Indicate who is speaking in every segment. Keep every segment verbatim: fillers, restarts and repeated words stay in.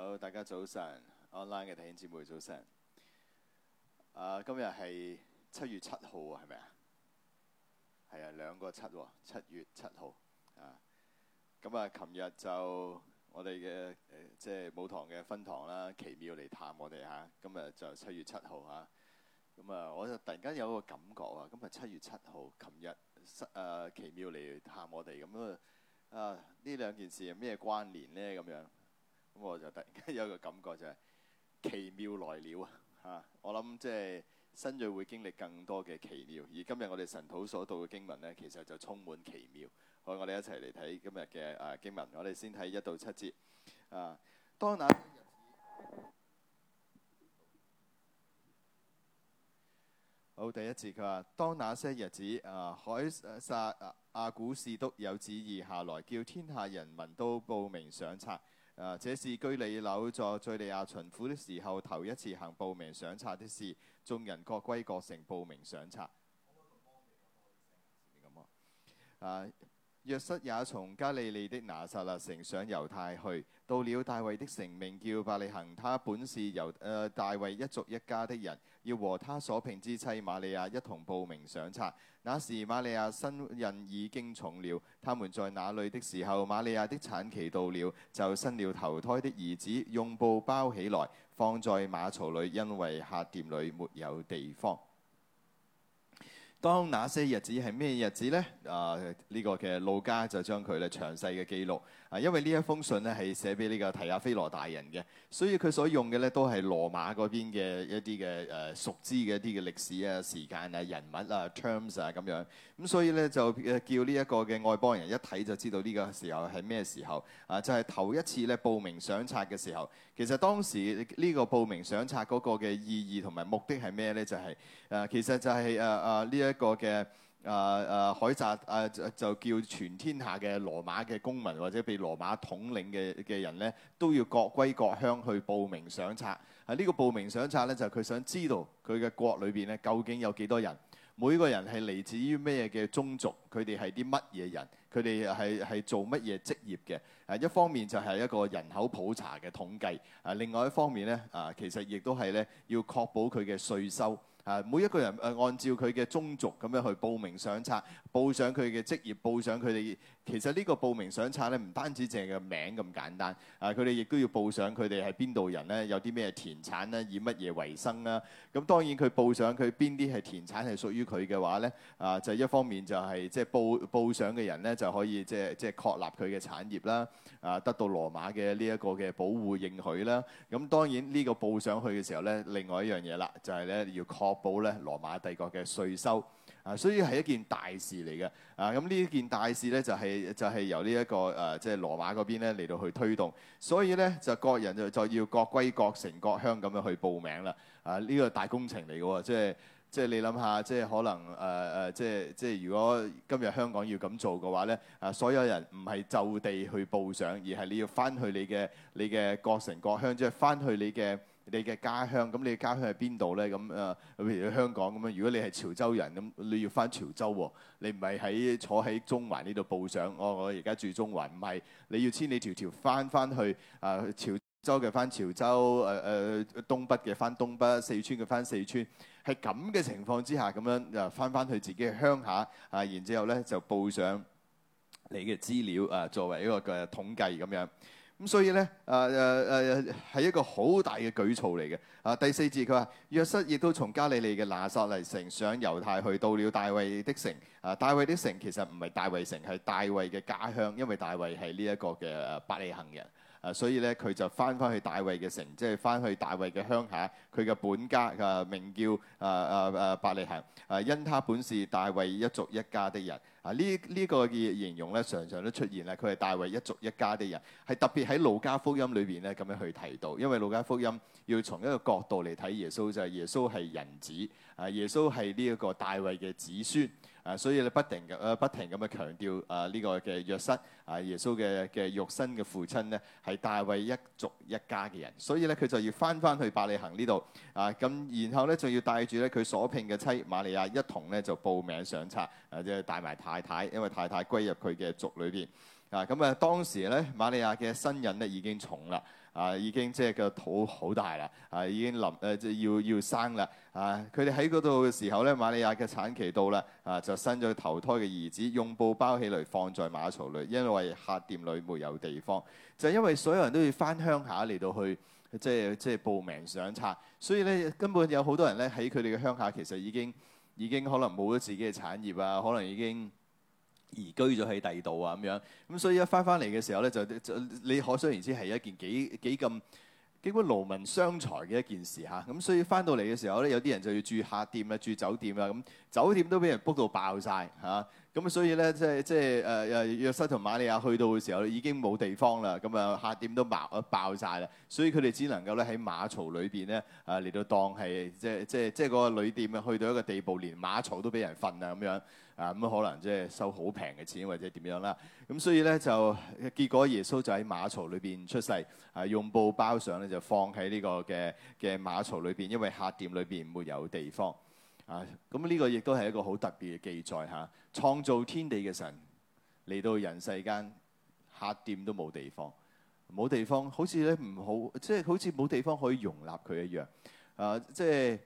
Speaker 1: 好，大家早晨 ，online 嘅弟兄姊妹早晨。啊，今日係七月七號啊，係咪啊？係啊，兩個七喎，七月七號啊。咁啊，琴日就我哋嘅誒，即係母堂嘅分堂啦，奇妙嚟探我哋嚇。今日就七月七號嚇。咁啊，我就突然間有個感覺啊，今日七月七號，琴日誒奇妙嚟探我哋咁啊。啊，呢兩件事係咩關聯呢？咁樣。咁我就突然間有一個感覺就係、是、奇妙來了啊！嚇，我諗即係新銳會經歷更多嘅奇妙，而今日我哋神土所讀嘅經文呢，其實就充滿奇妙。好，我哋一齊嚟睇今日嘅啊經文。我哋先睇一到七節啊。當那好，第一節佢話：當那些日子啊，凱撒阿古士督有旨意下來，叫天下人民都報名上冊。啊！這是居里樓在敘利亞巡撫的時候頭一次行報名上冊的事，眾人各歸各城報名上冊。啊！約瑟也從加利利的拿撒勒城上猶太去，到了大衛的城，名叫伯利恆。他本是猶誒、呃、大衛一族一家的人，要和他所聘之妻瑪利亞一同報名上冊。那時瑪利亞身孕已經重了，他們在那裏的時候，瑪利亞的產期到了，就生了頭胎的兒子，用布包起來，放在馬槽裏，因為客店裏沒有地方。當那些日子係咩日子呢？啊，呢、這個嘅路加就將佢咧詳細嘅記錄。啊，因為呢一封信咧係寫俾呢個提亞非羅大人嘅，所以佢所用嘅咧都係羅馬嗰邊嘅一啲嘅誒熟知嘅一啲嘅歷史啊、時間啊、人物啊、terms 啊咁樣。咁所以咧就誒叫呢一個嘅外邦人一睇就知道呢個時候係咩時候啊？就係、是、頭一次咧報名上冊嘅時候。其實當時呢個報名上冊嗰個嘅意義同埋目的係咩咧？就係、是、誒、啊、其實就係誒誒呢一個嘅。誒誒凱撒誒就就叫全天下嘅羅馬嘅公民或者被羅馬統領嘅嘅人咧，都要各歸各鄉去報名上冊。喺呢個報名上冊咧，就係佢想知道佢嘅國裏邊咧究竟有幾多人，每個人係嚟自於咩嘅宗族，佢哋係啲乜嘢人，佢哋係係做乜嘢職業嘅。誒一方面就係一個人口普查嘅統計，誒另外一方面咧啊，其實亦都係咧要確保佢嘅稅收。啊！每一個人誒按照佢嘅宗族咁樣去報名上冊，報上佢嘅職業，報上佢哋。其實呢個報名上冊咧，唔單止淨係個名咁簡單，啊！佢哋亦都要報上佢哋係邊度人咧，有啲咩田產咧，以乜嘢為生啦。咁當然佢報上佢邊啲係田產係屬於佢嘅話咧，啊就一方面就係即係報報上嘅人咧就可以即係即係確立佢嘅產業啦，啊得到羅馬嘅呢一個嘅保護認許啦。咁當然呢個報上去嘅時候咧，另外一樣嘢啦，就係咧要確保咧羅馬帝國嘅稅收。啊，所以係一件大事嚟嘅。啊，咁呢件大事咧就係、是、就係、是、由呢、這、一個誒即係羅馬嗰邊咧嚟到去推動。所以咧就各人就就要各歸各城各鄉咁樣去報名啦。啊，呢、這個大工程嚟嘅喎，即係即係你諗下，即係可能誒誒、呃、即係即係如果今日香港要咁做嘅話咧，啊所有人唔係就地去報上，而係你要翻去你嘅你嘅各城各鄉，即係翻去你嘅。你嘅家鄉，咁你嘅家鄉喺邊度咧？咁誒，譬如香港咁樣，如果你係潮州人，咁你要翻潮州喎，你唔係喺坐喺中環呢度報上。我我而家住中環，唔係，你要千里迢迢翻翻去啊潮州嘅翻潮州，誒、呃、誒東北嘅翻東北，四川嘅翻四川，係咁嘅情況之下，咁樣誒翻翻去自己嘅鄉下啊，然之後咧就報上你嘅資料啊，作為一個嘅統計咁樣。咁所以咧，誒誒誒係一個好大嘅舉措嚟嘅。啊，第四節佢話：約瑟亦都從加利利嘅拿撒勒城上猶太去，到了大衛的城。啊，大衛的城其實唔係大衛城，係大衛嘅家鄉，因為大衛係呢一個嘅伯利恆人。啊，所以咧佢就翻翻去大衛嘅城，即係翻去大衛嘅鄉下，佢嘅本家啊名叫啊啊啊伯利恆。啊，因他本是大衛一族一家的人。啊，呢呢、這個嘅形容咧，常常都出現啦。佢係大衛一族一家的人，係特別喺路加福音裏邊咧咁樣去提到，因為路加福音要從一個角度嚟睇耶穌，就係、是、耶穌係人子，啊耶穌係呢一個大衛嘅子孫。啊，所以咧不停嘅，誒不停咁去強調啊呢個嘅約瑟啊，耶穌嘅嘅肉身嘅父親咧係大衛一族一家嘅人，所以咧佢就要翻翻去伯利恆呢度啊，咁然後咧仲要帶住咧佢所聘嘅妻瑪利亞一同咧就報名上冊，啊即係帶埋太太，因為太太歸入佢嘅族裏邊啊，咁啊當時咧瑪利亞嘅身孕咧已經重啦。 啊，已經即係個肚好大啦，啊已經臨誒即係要要生啦。啊，佢哋喺嗰度嘅時候咧，瑪利亞嘅產期到啦，啊就生咗頭胎嘅兒子，用布包起嚟放在馬槽裏，因為客店裏沒有地方。就係因為所有人都要翻鄉下嚟到去。即係即係報名上冊，所以咧根本有好多人咧喺佢哋嘅鄉下，其實已經已經可能冇咗自己嘅產業啊，可能已經移居咗喺第二度啊咁樣。咁所以一翻翻嚟嘅時候咧，就就你可想而知係一件幾幾咁幾乎勞民傷財嘅一件事嚇。咁所以翻到嚟嘅時候咧，有啲人就要住客店啊，住酒店啊，咁酒店都俾人 book 到爆晒嚇。咁所以咧，即係即係誒誒約瑟同瑪利亞去到嘅時候，已經冇地方啦。咁啊，客店都爆爆曬啦。所以佢哋只能夠咧喺馬槽裏邊咧啊嚟到當係即係即係即係嗰個旅店啊，去到一個地步，連馬槽都俾人瞓啊咁樣啊咁可能即係收好平嘅錢或者點樣啦。咁所以咧就結果耶穌就喺馬槽裏邊出世啊，用布包上咧就放喺呢個嘅嘅馬槽裏邊，因為客店裏邊沒有地方。啊，咁呢個亦都係一個好特別嘅記載嚇、啊。創造天地嘅神嚟到人世間，客店都冇地方，冇地方，好似咧唔好，即係好似冇地方可以容納佢一樣。啊，即係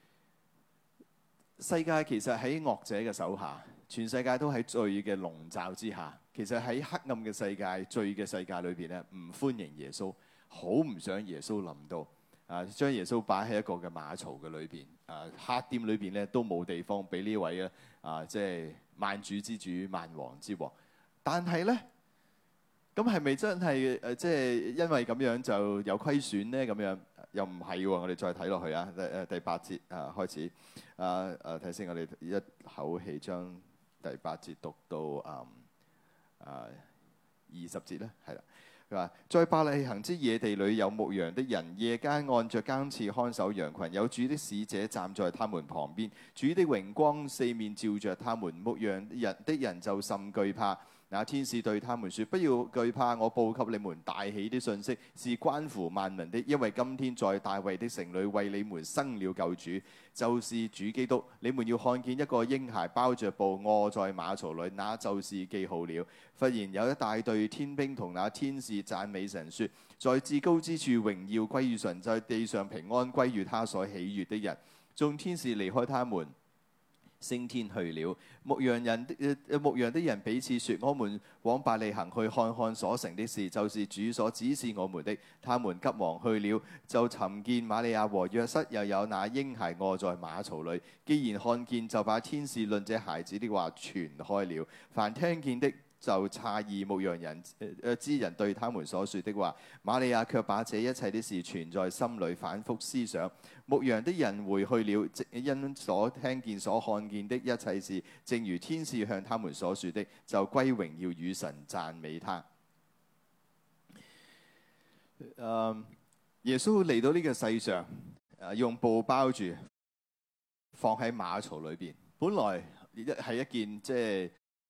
Speaker 1: 世界其實喺惡者嘅手下，全世界都喺罪嘅籠罩之下。其實喺黑暗嘅世界、罪嘅世界裏邊咧，唔歡迎耶穌，好唔想耶穌臨到。啊，將耶穌擺喺一個嘅馬槽嘅裏邊，啊，客店裏邊咧都冇地方俾呢位咧，啊，即係萬主之主、萬王之王。但係咧，咁係咪真係誒，即係因為咁樣就有虧損咧？咁樣又唔係喎。我哋再睇落去啊，誒誒第八節啊開始，啊誒睇先，我哋一口氣將第八節讀到啊啊二十節咧，係啦。在伯利恆之野地裏有牧羊的人，夜間按着更次看守羊群，有主的使者站在他們旁邊，主的榮光四面照着他們，牧羊人的人就甚懼怕。那天使對他們說：不要懼怕，我報給你們大喜的信息，是關乎萬民的，因為今天在大衛的城裏為你們生了救主，就是主基督。你們要看見一個嬰孩包着布臥在馬槽裏，那就是記號了。忽然有一大隊天兵同那天使讚美神說：在至高之處榮耀歸於神，在地上平安歸於他所喜悅的人。眾天使離開他們，升天去了。牧羊人的、呃、牧羊的人彼此說：我們往伯利恆去看看所成的事，就是主所指示我們的。他們急忙去了，就尋見瑪利亞和約瑟，又有那嬰孩臥在馬槽裏。既然看見，就把天使論這孩子的話傳開了。凡聽見的就詫異牧羊人誒之人對他們所說的話。瑪利亞卻把這一切的事存在心裏，反覆思想。牧羊的人回去了，因所聽見所看見的一切事，正如天使向他們所說的，就歸榮耀與神，讚美他。Uh, 耶穌嚟到呢個世上，uh, 用布包住，放喺馬槽裏邊。本來係一件即係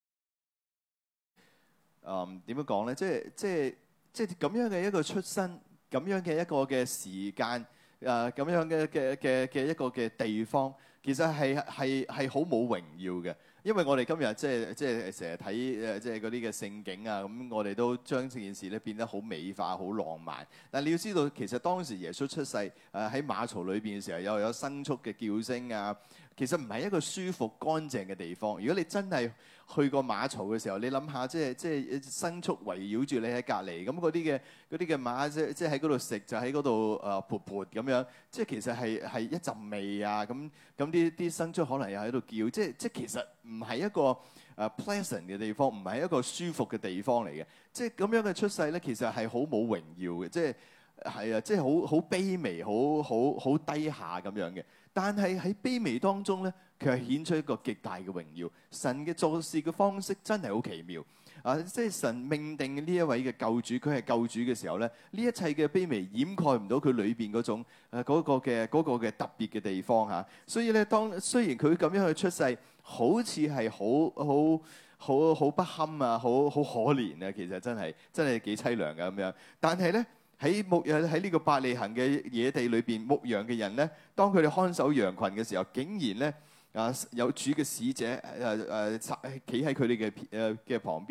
Speaker 1: 誒點樣講咧？即係即係即係咁樣嘅一個出身，咁樣嘅一個嘅時間。誒咁、呃、樣嘅嘅嘅嘅一個嘅地方，其實係係係好冇榮耀嘅，因為我哋今日即係即係成日睇誒即係嗰啲嘅聖景啊，咁我哋都將這件事咧變得好美化、好浪漫。但係你要知道，其實當時耶穌出世誒喺馬槽裏邊嘅時候，又有牲畜嘅叫聲啊，其實唔係一個舒服乾淨嘅地方。如果你真係去過馬槽嘅時候，你諗下，即係即係牲畜圍繞住你喺隔離，咁嗰啲嘅嗰啲嘅馬即即喺嗰度食，就喺嗰度誒潑潑咁樣，即係其實係係一陣味啊！咁咁啲啲牲畜可能又喺度叫，即係即係其實唔係一個誒 pleasant 嘅地方，唔係一個舒服嘅地方嚟嘅。即係咁樣嘅出世咧，其實係好冇榮耀嘅，即係係啊，即係好好卑微、好好好低下咁樣嘅。但係喺卑微當中咧，佢係顯出一個極大嘅榮耀。神嘅做事嘅方式真係好奇妙啊！即係神命定呢一位嘅救主，佢係救主嘅時候咧，呢一切嘅卑微掩蓋唔到佢裏邊嗰種誒嗰個嘅嗰個嘅特別嘅地方嚇。所以咧，當雖然佢咁樣去出世，好似係好好好好不堪啊，好好可憐啊，其實真係真係幾凄涼嘅咁樣。但係咧，喺牧誒喺呢個伯利恆嘅野地裏邊牧羊嘅人咧，當佢哋看守羊群嘅時候，竟然咧啊有主嘅使者誒誒企喺佢哋嘅誒嘅旁邊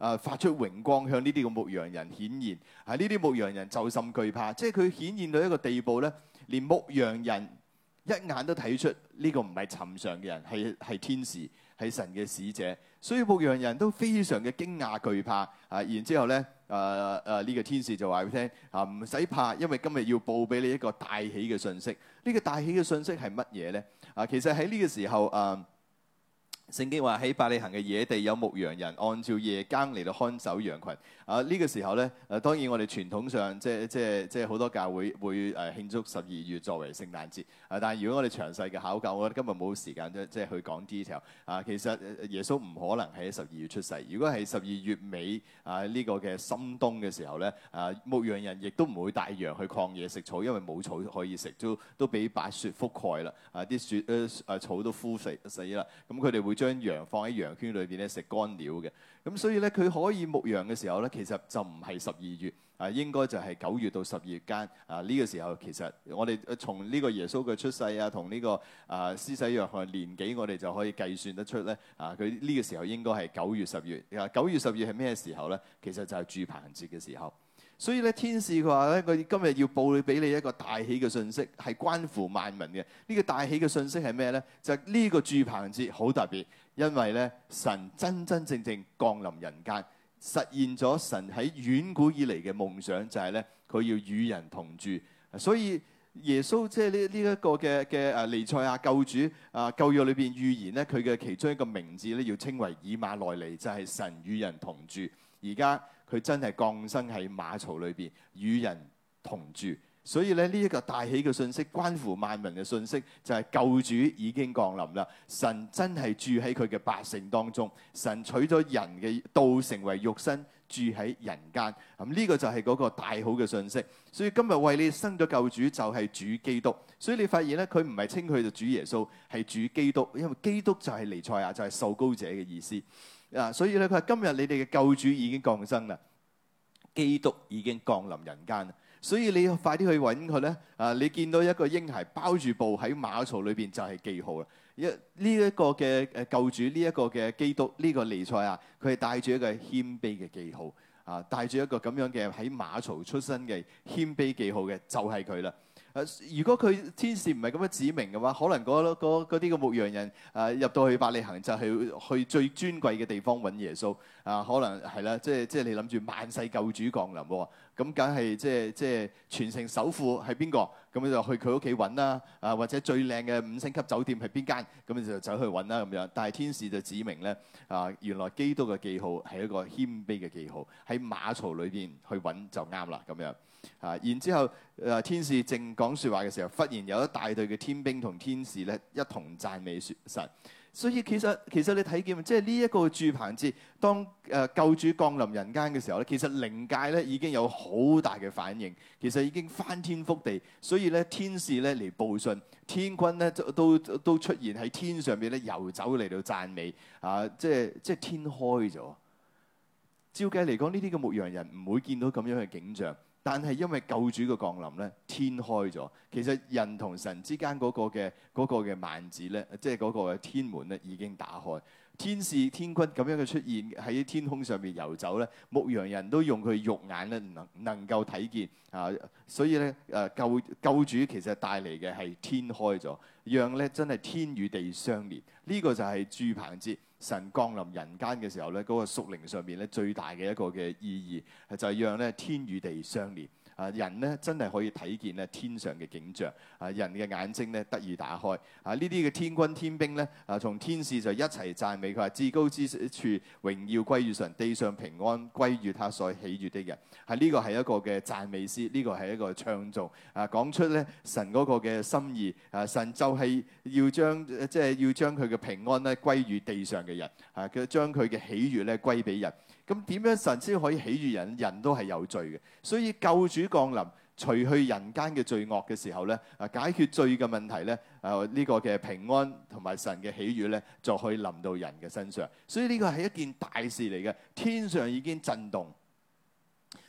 Speaker 1: 啊發出榮光，向呢啲嘅牧羊人顯現。啊，呢啲牧羊人就甚懼怕，即係佢顯現到一個地步咧，連牧羊人一眼都睇出呢個唔係尋常嘅人，係係天使，係神嘅使者。所以牧羊人都非常嘅驚訝懼怕。啊，然之後咧，誒誒呢個天使就話俾佢聽啊，唔使怕，因為今日要報俾你一個大喜嘅信息。呢、這個大喜嘅信息係乜嘢咧？啊，其實喺呢個時候啊。聖經話喺伯利恆嘅野地有牧羊人，按照夜更嚟到看守羊群。啊，呢、這個時候咧，誒、啊、當然我哋傳統上即係即係即係好多教會會誒慶祝十二月作為聖誕節。啊，但係如果我哋詳細嘅考究，我覺得今日冇時間即係去講 detail。啊，其實耶穌唔可能喺十二月出世。如果係十二月尾啊呢、這個嘅深冬嘅時候咧，啊牧羊人亦都唔會帶羊去曠野食草，因為冇草可以食，都都俾白雪覆蓋啦。啊，啲雪誒誒草都枯死死啦。咁佢哋會將羊放喺羊圈裏邊咧食乾料嘅。咁所以咧，佢可以牧羊嘅時候咧，其實就唔係十二月啊，應該就係九月到十二月間啊。呢、這個時候其實我哋從呢個耶穌嘅出世啊，同呢、這個啊施洗約翰年紀，我哋就可以計算得出咧啊。佢呢個時候應該係九月十月啊。九月十月係咩時候咧？其實就係住棚節嘅時候。所以咧，天使佢話咧，佢今日要報俾你一個大喜嘅信息，係關乎萬民嘅。呢、這個大喜嘅信息係咩咧？就係、是、呢個住棚節好特別，因為咧神真真正正降臨人間，實現咗神喺遠古以嚟嘅夢想，就係咧佢要與人同住。所以耶穌即係呢呢一個嘅嘅誒彌賽亞救主啊，舊約裏邊預言咧，佢嘅其中一個名字咧要稱為以馬內利，就係、是、神與人同住。而家佢真係降生喺馬槽裏邊與人同住，所以咧呢一個大喜嘅信息，關乎萬民嘅信息，就係救主已經降臨啦。神真係住喺佢嘅百姓當中，神取咗人嘅道成為肉身，住喺人間。咁呢個就係嗰個大好嘅信息。所以今日為你生咗救主就係主基督。所以你發現咧，佢唔係稱佢做主耶穌，係主基督，因為基督就係彌賽亞，就係受膏者嘅意思。啊，所以咧，佢話今日你哋嘅救主已經降生啦，基督已經降臨人間啦，所以你要快啲去揾佢咧。啊，你見到一個嬰孩包住布喺馬槽裏邊就係記號啦。一呢一個嘅誒救主，呢一個嘅基督，呢個彌賽亞，佢係帶住一個謙卑嘅記號啊，帶住一個咁樣嘅喺馬槽出生嘅謙卑記號嘅，就係佢啦。誒，如果佢天使唔係咁樣指明嘅話，可能嗰嗰嗰啲嘅牧羊人誒入到去伯利恆就係去最尊貴嘅地方揾耶穌啊，可能係啦，即係即係你諗住萬世救主降臨喎，咁梗係即係即係全城首富係邊個？咁就去佢屋企揾啦，啊或者最靚嘅五星級酒店係邊間？咁就走去揾啦咁樣。但係天使就指明咧啊，原來基督嘅記號係一個謙卑嘅記號，喺馬槽裏邊去揾就啱啦咁樣。啊！然之後，誒天使正講説話嘅時候，忽然有一大隊嘅天兵同天使咧一同讚美神。所以其實其實你睇見，即係呢一個住棚節，當誒救主降臨人間嘅時候咧，其實靈界咧已經有好大嘅反應，其實已經翻天覆地。所以咧，天使咧嚟報信，天軍咧都都都出現喺天上邊咧遊走嚟到讚美啊！即係即係天開咗。照計嚟講，呢啲嘅牧羊人唔會見到咁樣嘅景象。但係因為救主嘅降臨咧，天開咗。其實人同神之間嗰個嘅嗰個嘅幔子咧，即係嗰個嘅天門咧已經打開。天使天軍咁樣嘅出現喺天空上面遊走咧，牧羊人都用佢肉眼咧能能夠睇見啊。所以咧誒救救主其實帶嚟嘅係天開咗，讓咧真係天與地相連。呢、這個就係住棚節。神降臨人間嘅時候咧，嗰、那個屬靈上面咧最大嘅一個嘅意義，就係、是、讓咧天與地相連。啊，人咧真係可以睇見咧天上嘅景象。啊，人嘅眼睛咧得以打開。啊，呢啲嘅天軍天兵咧，啊，從天使就一齊讚美佢話：至高之處榮耀歸於神，地上平安歸於他所喜悅的人。係、啊、呢、這個係一個嘅讚美詩，呢、這個係一個唱頌。啊，講出咧神嗰個嘅心意。啊，神就係要將即係、就是、要將佢嘅平安咧歸於地上嘅人。啊，佢將佢嘅喜悅咧歸俾人。咁點樣神先可以喜悅人？人都係有罪嘅，所以救主降臨，除去人間嘅罪惡嘅時候咧，啊解決罪嘅問題咧，啊呢個嘅平安同埋神嘅喜悅咧，就可以臨到人嘅身上。所以呢個係一件大事嚟嘅，天上已經震動。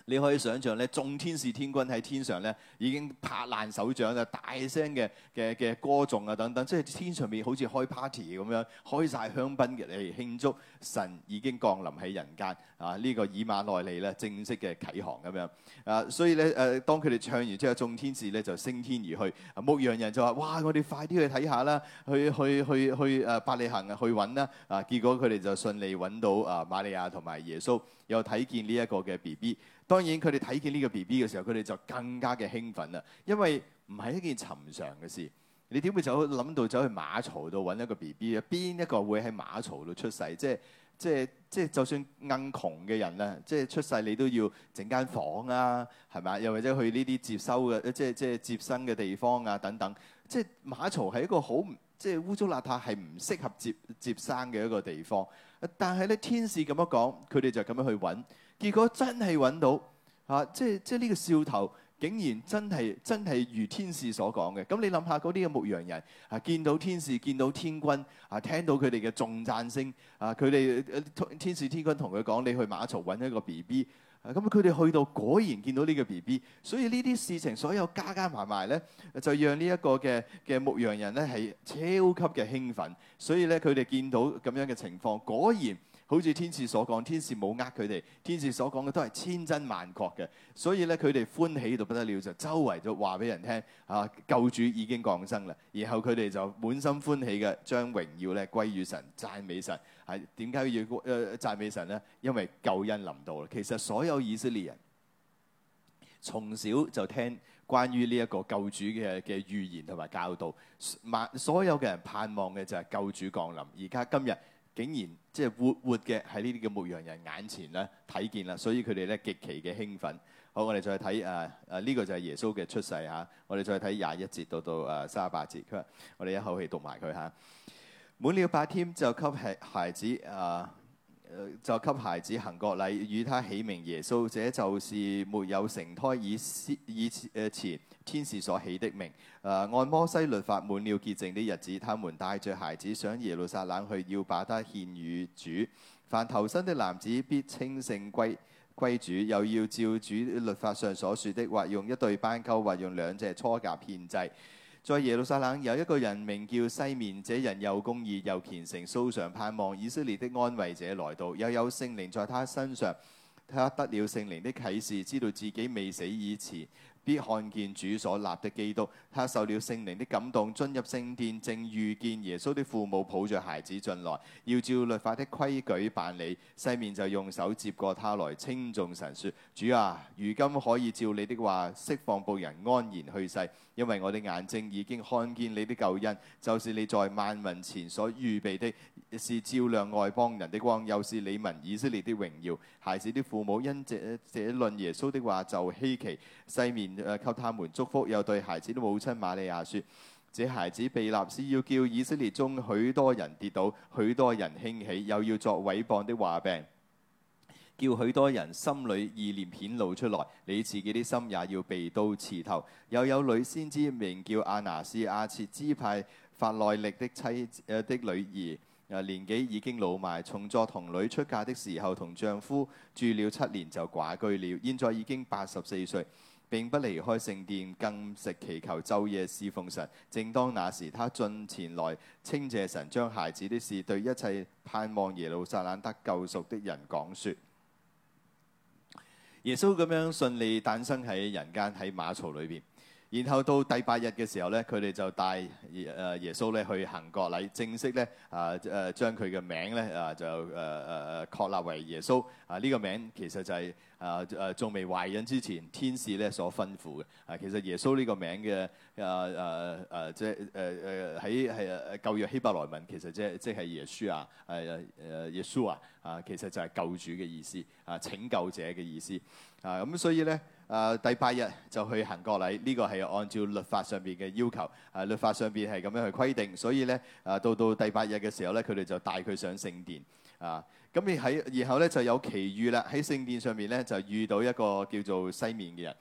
Speaker 1: 你可以想象咧，眾天使天軍喺天上咧，已經拍爛手掌啊，大聲嘅嘅嘅歌頌啊等等，即係天上面好似開 party 咁樣，開晒香檳嘅嚟慶祝神已經降臨喺人間啊！呢、這個以馬內利咧正式嘅啟航咁樣啊，所以咧誒、啊，當佢哋唱完之後，眾天使咧就升天而去，啊、牧羊人就話：哇！我哋快啲去睇下啦，去去去去誒伯利恆啊，去揾啦！啊，結果佢哋就順利揾到啊瑪利亞同埋耶穌，又睇見呢一個嘅 B B。當然佢哋睇見呢個 B B 嘅時候，佢哋就更加嘅興奮啦，因為唔係一件尋常嘅事。你點會走諗到走去馬槽度揾一個 B B 啊？邊一個會喺馬槽度出世？即係即係即係，就算硬窮嘅人啊，即係出世你都要整間房啊，係咪？又或者去呢啲接收嘅，即係即係接生嘅地方啊等等。即係馬槽係一個好即係污糟邋遢，係唔適合接接生嘅一個地方。但係咧，天使咁樣講，佢哋就咁樣去揾。結果真係揾到啊！即係即係呢個兆頭，竟然真係真係如天使所講嘅。咁你諗下嗰啲嘅牧羊人啊，見到天使，見到天軍啊，聽到佢哋嘅頌讚聲啊，佢哋天使天軍同佢講：你去馬槽揾一個 B B。咁佢哋去到果然見到呢個 B B。所以呢啲事情所有加加埋埋咧，就讓呢一個嘅嘅牧羊人咧係超級嘅興奮。所以咧，佢哋見到咁樣嘅情況，果然。好似天使所講，天使冇呃佢哋，天使所講嘅都係千真萬確嘅，所以咧佢哋歡喜到不得了，就周圍就話俾人聽啊，救主已經降生啦。然後佢哋就滿心歡喜嘅將榮耀咧歸於神，讚美神。係點解要誒、呃、讚美神咧？因為救恩臨到啦。其實所有以色列人從小就聽關於呢一個救主嘅嘅預言同埋教導，所有嘅人盼望嘅就係救主降臨。而家今日。竟然即係活活嘅喺呢啲嘅牧羊人眼前咧睇見啦，所以佢哋咧極其嘅興奮。好，我哋再睇誒誒呢個就係耶穌嘅出世嚇、啊。我哋再睇廿一節到到誒三十八節。佢話：我哋一口氣讀埋佢嚇。滿了八天就給孩孩子誒、啊，就給孩子行國禮，與他起名耶穌。這就是沒有成胎以以誒前天使所起的名。誒、啊、按摩西律法滿了潔淨的日子，他們帶着孩子上耶路撒冷去，要把他獻與主。凡頭生的男子必稱聖歸歸主，又要照主律法上所說的，或用一對斑鳩，或用兩隻雛鴿獻祭。在耶路撒冷有一個人名叫西面，這人又公義又虔誠，素常盼望以色列的安慰者來到，又有聖靈在他身上，他得了聖靈的啟示，知道自己未死以前必看見主所立的基督。他受了聖靈的感動，進入聖殿，正遇見耶穌的父母抱着孩子進來，要照律法的規矩辦理。西面就用手接過他來，稱頌神說：主啊，如今可以照你的話釋放僕人安然去世，因為我的眼睛已經看見你的救恩，就是你在萬民前所預備的，是照亮外邦人的光，又是你民以色列的榮耀。孩子的父母因這這論耶穌的話就稀奇。西面誒給他們祝福，又對孩子的母親瑪利亞說：這孩子被立是要叫以色列中許多人跌倒，許多人興起，又要作毀謗的話病，叫許多人心裏意念顯露出來。你自己的心也要被刀刺透。又有女先知名叫亞拿是亞設支派法內力的妻誒、呃、的女兒。年紀已經老邁，從作童女出嫁的時候，同丈夫住了七年就寡居了。現在已經八十四歲，並不離開聖殿，禁食祈求，晝夜侍奉神。正當那時，他進前來稱謝神，將孩子的事對一切盼望耶路撒冷得救贖的人講說。耶穌咁樣順利誕生喺人間，喺馬槽裏邊。然後到第八日嘅時候咧，佢哋就帶誒耶穌咧去行國禮，正式咧啊誒將佢嘅名咧啊就誒誒誒確立為耶穌啊。呢個名其實就係啊誒仲未懷孕之前天使咧所吩咐嘅啊。其實耶穌呢個名嘅啊啊啊即係誒誒喺係舊約希伯來文其實即係即係耶穌啊誒誒耶穌啊啊其實就係救主嘅意思啊，拯救者嘅意思啊。咁所以咧。誒、呃、第八日就去行國禮，呢、這個係按照律法上邊嘅要求，誒、啊、律法上邊係咁樣去規定，所以咧誒、啊、到到第八日嘅時候咧，佢哋就帶佢上聖殿，啊咁而喺然後咧就有奇遇啦，喺聖殿上面咧就遇到一個叫做西面嘅人，呢、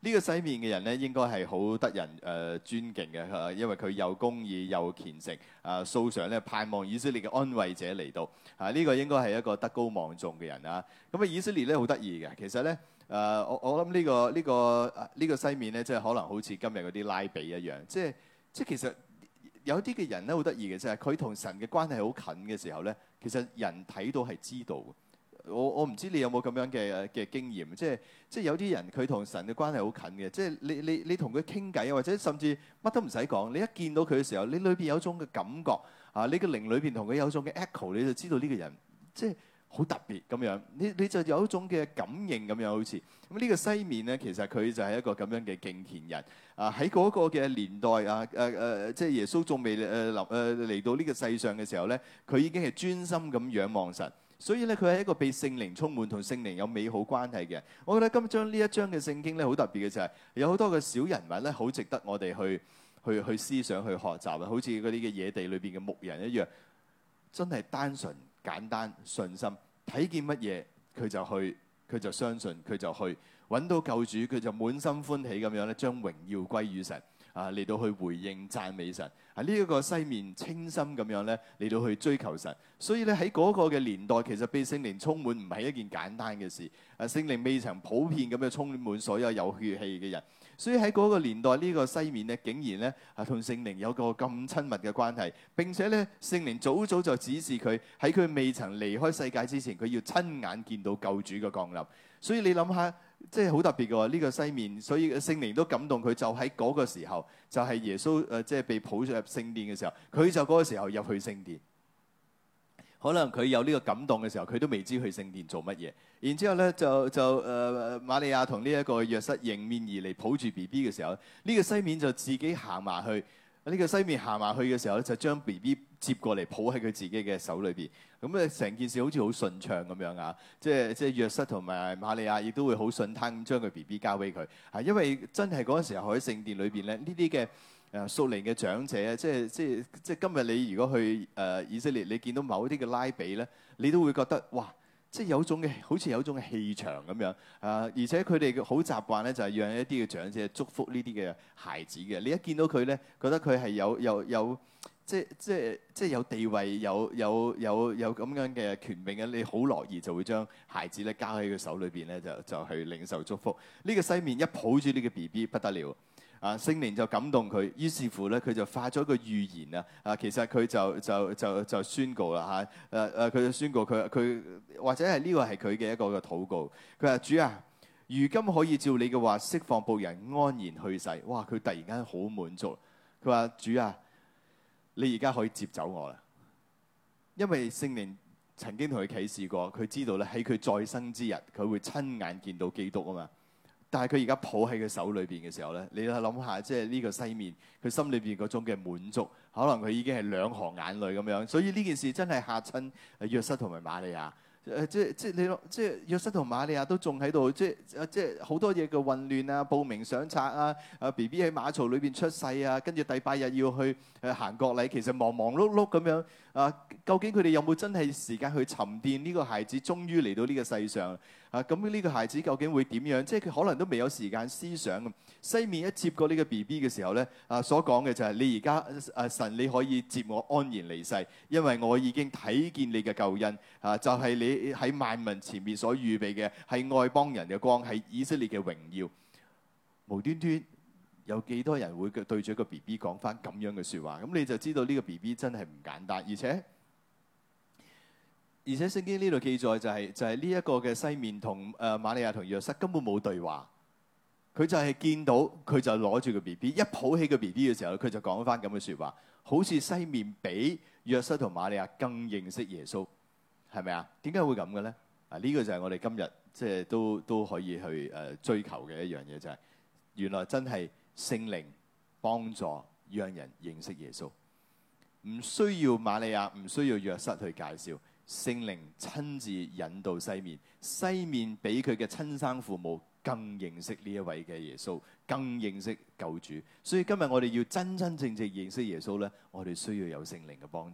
Speaker 1: 呢個西面嘅人咧，應該係好得人誒、呃、尊敬嘅、啊，因為佢又公義又虔誠，啊，素常咧盼望以色列嘅安慰者嚟到，啊，呢、這個應該係一個德高望重嘅人啊。咁啊，以色列咧好得意嘅，其實咧誒、呃，我我諗呢、這個呢、這個呢、這個西面咧，即係可能好似今日嗰啲拉比一樣，即係即係其實有啲嘅人咧好得意嘅，就係佢同神嘅關係好近嘅時候咧，其實人睇到係知道嘅。我我唔知你有冇咁樣嘅嘅經驗，即係即係有啲人佢同神嘅關係好近嘅，即係你你你同佢傾偈啊，或者甚至乜都唔使講，你一見到佢嘅時候，你裏邊有種嘅感覺啊，你嘅靈裏邊同佢有種嘅 echo，你就知道呢個人即係好特別咁樣，你你就有一種嘅感應咁樣好似。咁呢個西面咧，其實佢就係一個咁樣嘅敬虔人啊，喺嗰個嘅年代啊誒誒、啊，即係耶穌仲未誒臨誒嚟到呢個世上嘅時候咧，佢已經係專心咁仰望神。所以咧，佢係一個被聖靈充滿、同聖靈有美好關係嘅。我覺得今章呢一章嘅聖經咧，好特別嘅就係有好多嘅小人物咧，好值得我哋去去去思想、去學習啊！好似嗰啲嘅野地裏邊嘅牧人一樣，真係單純、簡單、信心，睇見乜嘢佢就去，佢就相信，佢就去揾到救主，佢就滿心歡喜咁樣咧，將榮耀歸於神啊！嚟到去回應讚美神。啊！呢、這、一個西面清心咁樣咧，嚟到去追求神，所以咧喺嗰個嘅年代，其實被聖靈充滿唔係一件簡單嘅事。啊，聖靈未曾普遍咁樣充滿所有有血氣嘅人，所以喺嗰個年代呢、這個西面咧，竟然咧啊同聖靈有個咁親密嘅關係，並且咧聖靈早早就指示佢喺佢未曾離開世界之前，佢要親眼見到救主嘅降臨。所以你諗下。即係好特別嘅喎，呢、這個西面，所以聖靈都感動佢，就喺嗰個時候，就係、是、耶穌誒、呃，即係被抱咗入聖殿嘅時候，佢就嗰個時候入去聖殿。可能佢有呢個感動嘅時候，佢都未知去聖殿做乜嘢。然之後咧，就就誒、呃、瑪利亞同呢一個約瑟迎面而嚟，抱住 B B 嘅時候，呢、這個西面就自己行埋去。呢、這個西面行埋去嘅時候咧，就將 B B 接過嚟，抱喺佢自己嘅手裏邊。咁咧，成件事好似好順暢咁樣啊！即係即係約瑟同埋瑪利亞亦都會好順攤咁將佢 B B 交俾佢。係因為真係嗰陣時候喺聖殿裏邊咧，呢啲嘅誒屬靈嘅長者，即係即係即係今日你如果去誒、呃、以色列，你見到某啲嘅拉比咧，你都會覺得哇！即係有種嘅，好似有種嘅氣場咁樣啊！而且佢哋好習慣咧，就係讓一啲嘅長者祝福呢啲嘅孩子嘅。你一見到佢咧，覺得佢係有有有即係即係即係有地位、有有有有咁樣嘅權柄嘅，你好樂意就會將孩子咧交喺佢手裏邊咧，就就去領受祝福。呢個西面一抱住呢個 B B 不得了。啊！聖靈就感動佢，於是乎咧，佢就發咗個預言啊！啊，其實佢就就就就宣告啦嚇！誒、啊、誒，佢就宣告佢佢或者係呢個係佢嘅一個嘅禱告。佢話：主啊，如今可以照你嘅話釋放僕人安然去世。哇！佢突然間好滿足。佢話：主啊，你而家可以接走我啦，因為聖靈曾經同佢啟示過，佢知道咧喺佢再生之日，佢會親眼見到基督啊嘛。但係佢而家抱喺佢手裏邊嘅時候咧，你諗下，即係呢個西面，佢心裏邊嗰種嘅滿足，可能佢已經係兩行眼淚咁樣。所以呢件事真係嚇親約瑟同埋瑪利亞。誒即係即係你即係約瑟同瑪利亞都仲喺度，即係即係好多嘢嘅混亂啊，報名上冊啊，啊 B B 喺馬槽裏邊出世啊，跟住第八日要去誒行國禮，其實忙忙碌碌咁樣啊。究竟佢哋有冇真係時間去沉澱呢個孩子終於嚟到呢個世上啊？咁呢個孩子究竟會點樣？即係佢可能都未有時間思想。西面一接過呢個 B B 嘅時候咧，啊所講嘅就係你而家誒神你可以接我安然離世，因為我已經睇見你嘅救恩啊，就係、是、你喺萬民前面所預備嘅係外邦人嘅光，係以色列嘅榮耀。無端端有幾多人會對住一個 B B 講翻咁樣嘅説話？咁你就知道呢個 B B 真係唔簡單，而且而且聖經呢度記載就係、是、就係呢一個嘅西面同誒瑪利亞同約瑟根本冇對話。佢就係見到佢就攞住個 B B， 一抱起個 B B 嘅時候，佢就講翻咁嘅説話，好似西面比約瑟同瑪利亞更認識耶穌，係咪啊？點解會咁嘅咧？啊，呢個就係我哋今日即係都都可以去誒追求嘅一樣嘢，就係原來真係聖靈幫助讓人認識耶穌，唔需要瑪利亞，唔需要約瑟去介紹，聖靈親自引導西面，西面比佢嘅親生父母更認識呢一位嘅耶穌，更認識救主。所以今日我哋要真真正正認識耶穌咧，我哋需要有聖靈嘅幫助。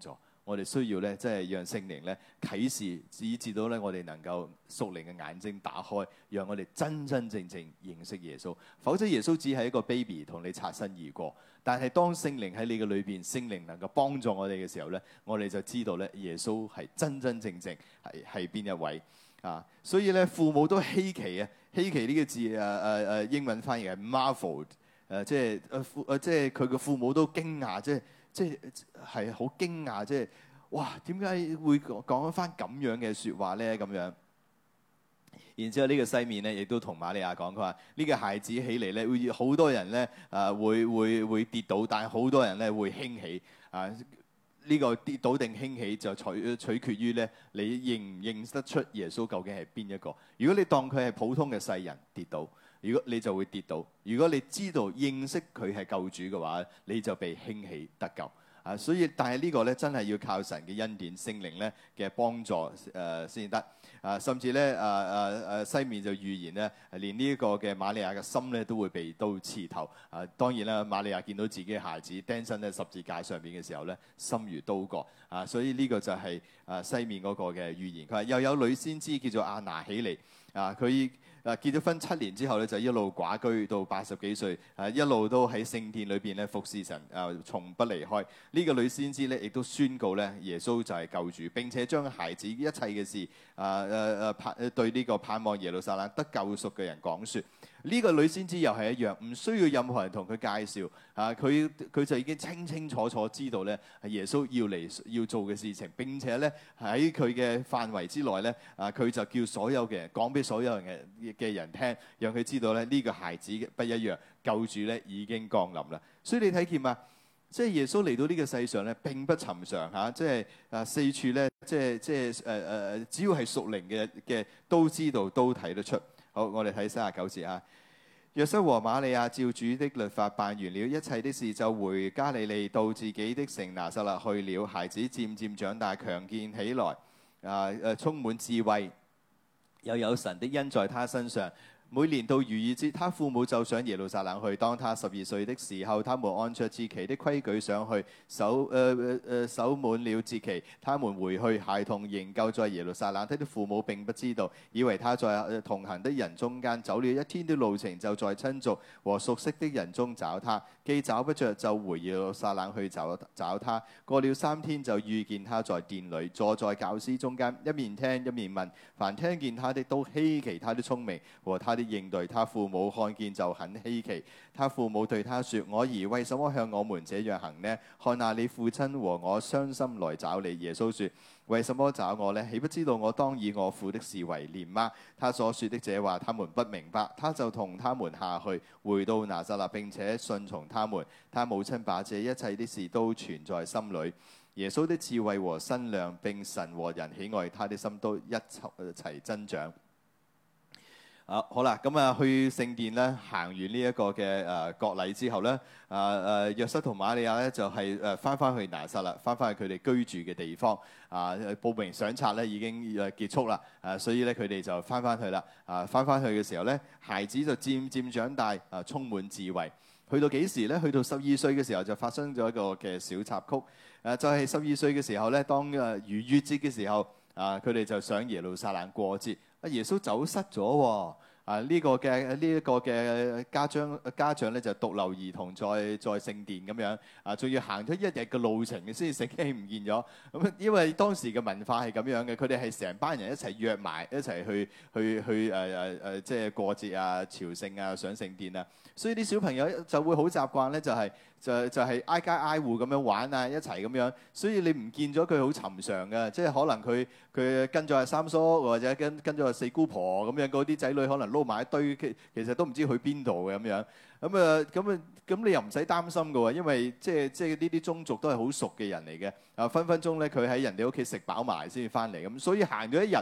Speaker 1: 我哋需要咧，即係讓聖靈咧啟示，以至到咧我哋能夠屬靈嘅眼睛打開，讓我哋真真正正認識耶穌。否則耶穌只係一個 baby 同你擦身而過。但係當聖靈喺你嘅裏邊，聖靈能夠幫助我哋嘅時候咧，我哋就知道咧耶穌係真真正正係係邊一位啊！所以咧父母都稀奇啊，稀奇呢個字誒誒誒英文翻譯係 marvel 誒、啊，即係誒父誒即係佢嘅父母都驚訝，即係。即係係好驚訝，即係哇點解會講一番咁樣嘅説話咧？咁樣，然之後呢個西面咧，亦都同瑪利亞講，佢話呢個孩子起嚟咧，會好多人咧啊會會會跌倒，但係好多人咧會興起啊！呢、呢個跌倒定興起就取取決於咧你認唔認得出耶穌究竟係邊一個。如果你當佢係普通嘅世人跌倒，如果你就會跌倒，如果你知道認識佢係救主嘅話，你就被興起得救啊！所以，但係呢個咧真係要靠神嘅恩典、聖靈咧嘅幫助誒先得啊！甚至咧誒誒誒西面就預言咧，連呢一個嘅瑪利亞嘅心咧都會被刀刺透啊！當然啦，瑪利亞見到自己嘅孩子釘身喺十字架上邊嘅時候咧，心如刀割啊！所以呢個就係誒西面嗰個嘅預言。佢話又有女先知叫做亞拿起嚟啊，佢。誒結咗婚七年之後咧，就一路寡居到八十幾歲，誒一路都喺聖殿裏邊咧服侍神，誒從不離開。呢、這個女先知咧，亦都宣告咧耶穌就係救主，並且將孩子一切嘅事，誒誒誒盼對呢個盼望耶路撒冷得救贖嘅人講説。呢、這個女先知又係一樣，唔需要任何人同佢介紹，啊佢佢就已經清清楚楚知道咧耶穌要嚟要做嘅事情，並且咧喺佢嘅範圍之內咧，啊佢就叫所有嘅人講俾所有人嘅嘅人聽，讓佢知道咧呢個孩子不一樣，救主咧已經降臨啦。所以你睇見嘛，即係耶穌嚟到呢個世上咧並不尋常嚇，即係啊四處咧，即係即係誒誒，只要係屬靈嘅嘅都知道都睇得出。好，我哋睇三十九節啊。約瑟和瑪利亞照主的律法辦完了一切的事，就回加利利到自己的城拿撒勒去了。孩子漸漸長大，強健起來，啊誒，充滿智慧，又有神的恩在他身上。每年到逾越節，他父母就上耶路撒冷去。當他十二歲的時候，他們按着節期的規矩上去，守誒誒誒守滿了節期，他們回去，孩童仍舊在耶路撒冷。他的父母並不知道，以為他在同行的人中間走了一天的路程，就在親族和熟悉的人中找他。既找不着，就回耶路撒冷去找找他。過了三天，就遇見他在殿裏，坐在教師中間，一面聽一面問。凡聽見他的都稀奇他的聰明和他的應對。他父母看見就很稀奇。他父母對他說：我兒為什麼向我們這樣行呢？看哪，你父親和我傷心來找你。耶穌說：為什麼找我呢？豈不知道我當以我父的事為念嗎？他所說的這話他們不明白。他就同他們下去，回到拿撒勒，並且順從他們。他母親把這一切的事都存在心裏。耶穌的智慧和身量，並神和人喜愛他的心都一齊增長。啊，好啦，咁啊去聖殿咧，行完呢一個嘅誒國禮之後咧，啊誒約瑟同瑪利亞咧就係誒翻翻去拿撒勒，翻翻去佢哋居住嘅地方。啊，報名上冊咧已經誒結束啦，啊，所以咧佢哋就翻翻去啦。啊，翻翻去嘅時候咧，孩子就漸漸長大，啊，充滿智慧。去到幾時咧？去到十二歲嘅時候就發生咗一個嘅小插曲。誒、啊，就係十二歲嘅時候咧，當誒逾越節嘅時候，啊，佢哋就上耶路撒冷過節。啊！耶穌走失咗喎！啊，呢、這個嘅呢一個嘅家長家長咧就獨留兒童在在聖殿咁樣啊，仲要行咗一日嘅路程先至醒起唔見咗。咁因為當時嘅文化係咁樣嘅，佢哋係成班人一齊約埋一齊去去去誒誒誒，即係過節啊、朝聖啊、上聖殿啊。所以啲小朋友就會好習慣咧，就係、是、就就係、是、挨家挨戶咁樣玩啊，一齊咁樣。所以你唔見咗佢好尋常嘅，即係可能佢佢跟咗阿三叔或者跟跟咗阿四姑婆咁樣，嗰啲仔女可能撈埋一堆，其其實都唔知去邊度嘅咁樣。咁啊咁啊咁你又唔使擔心嘅喎，因為即係即係呢啲宗族都係好熟嘅人嚟嘅。啊分分鐘咧佢喺人哋屋企食飽埋先至翻嚟咁，所以行咗一日。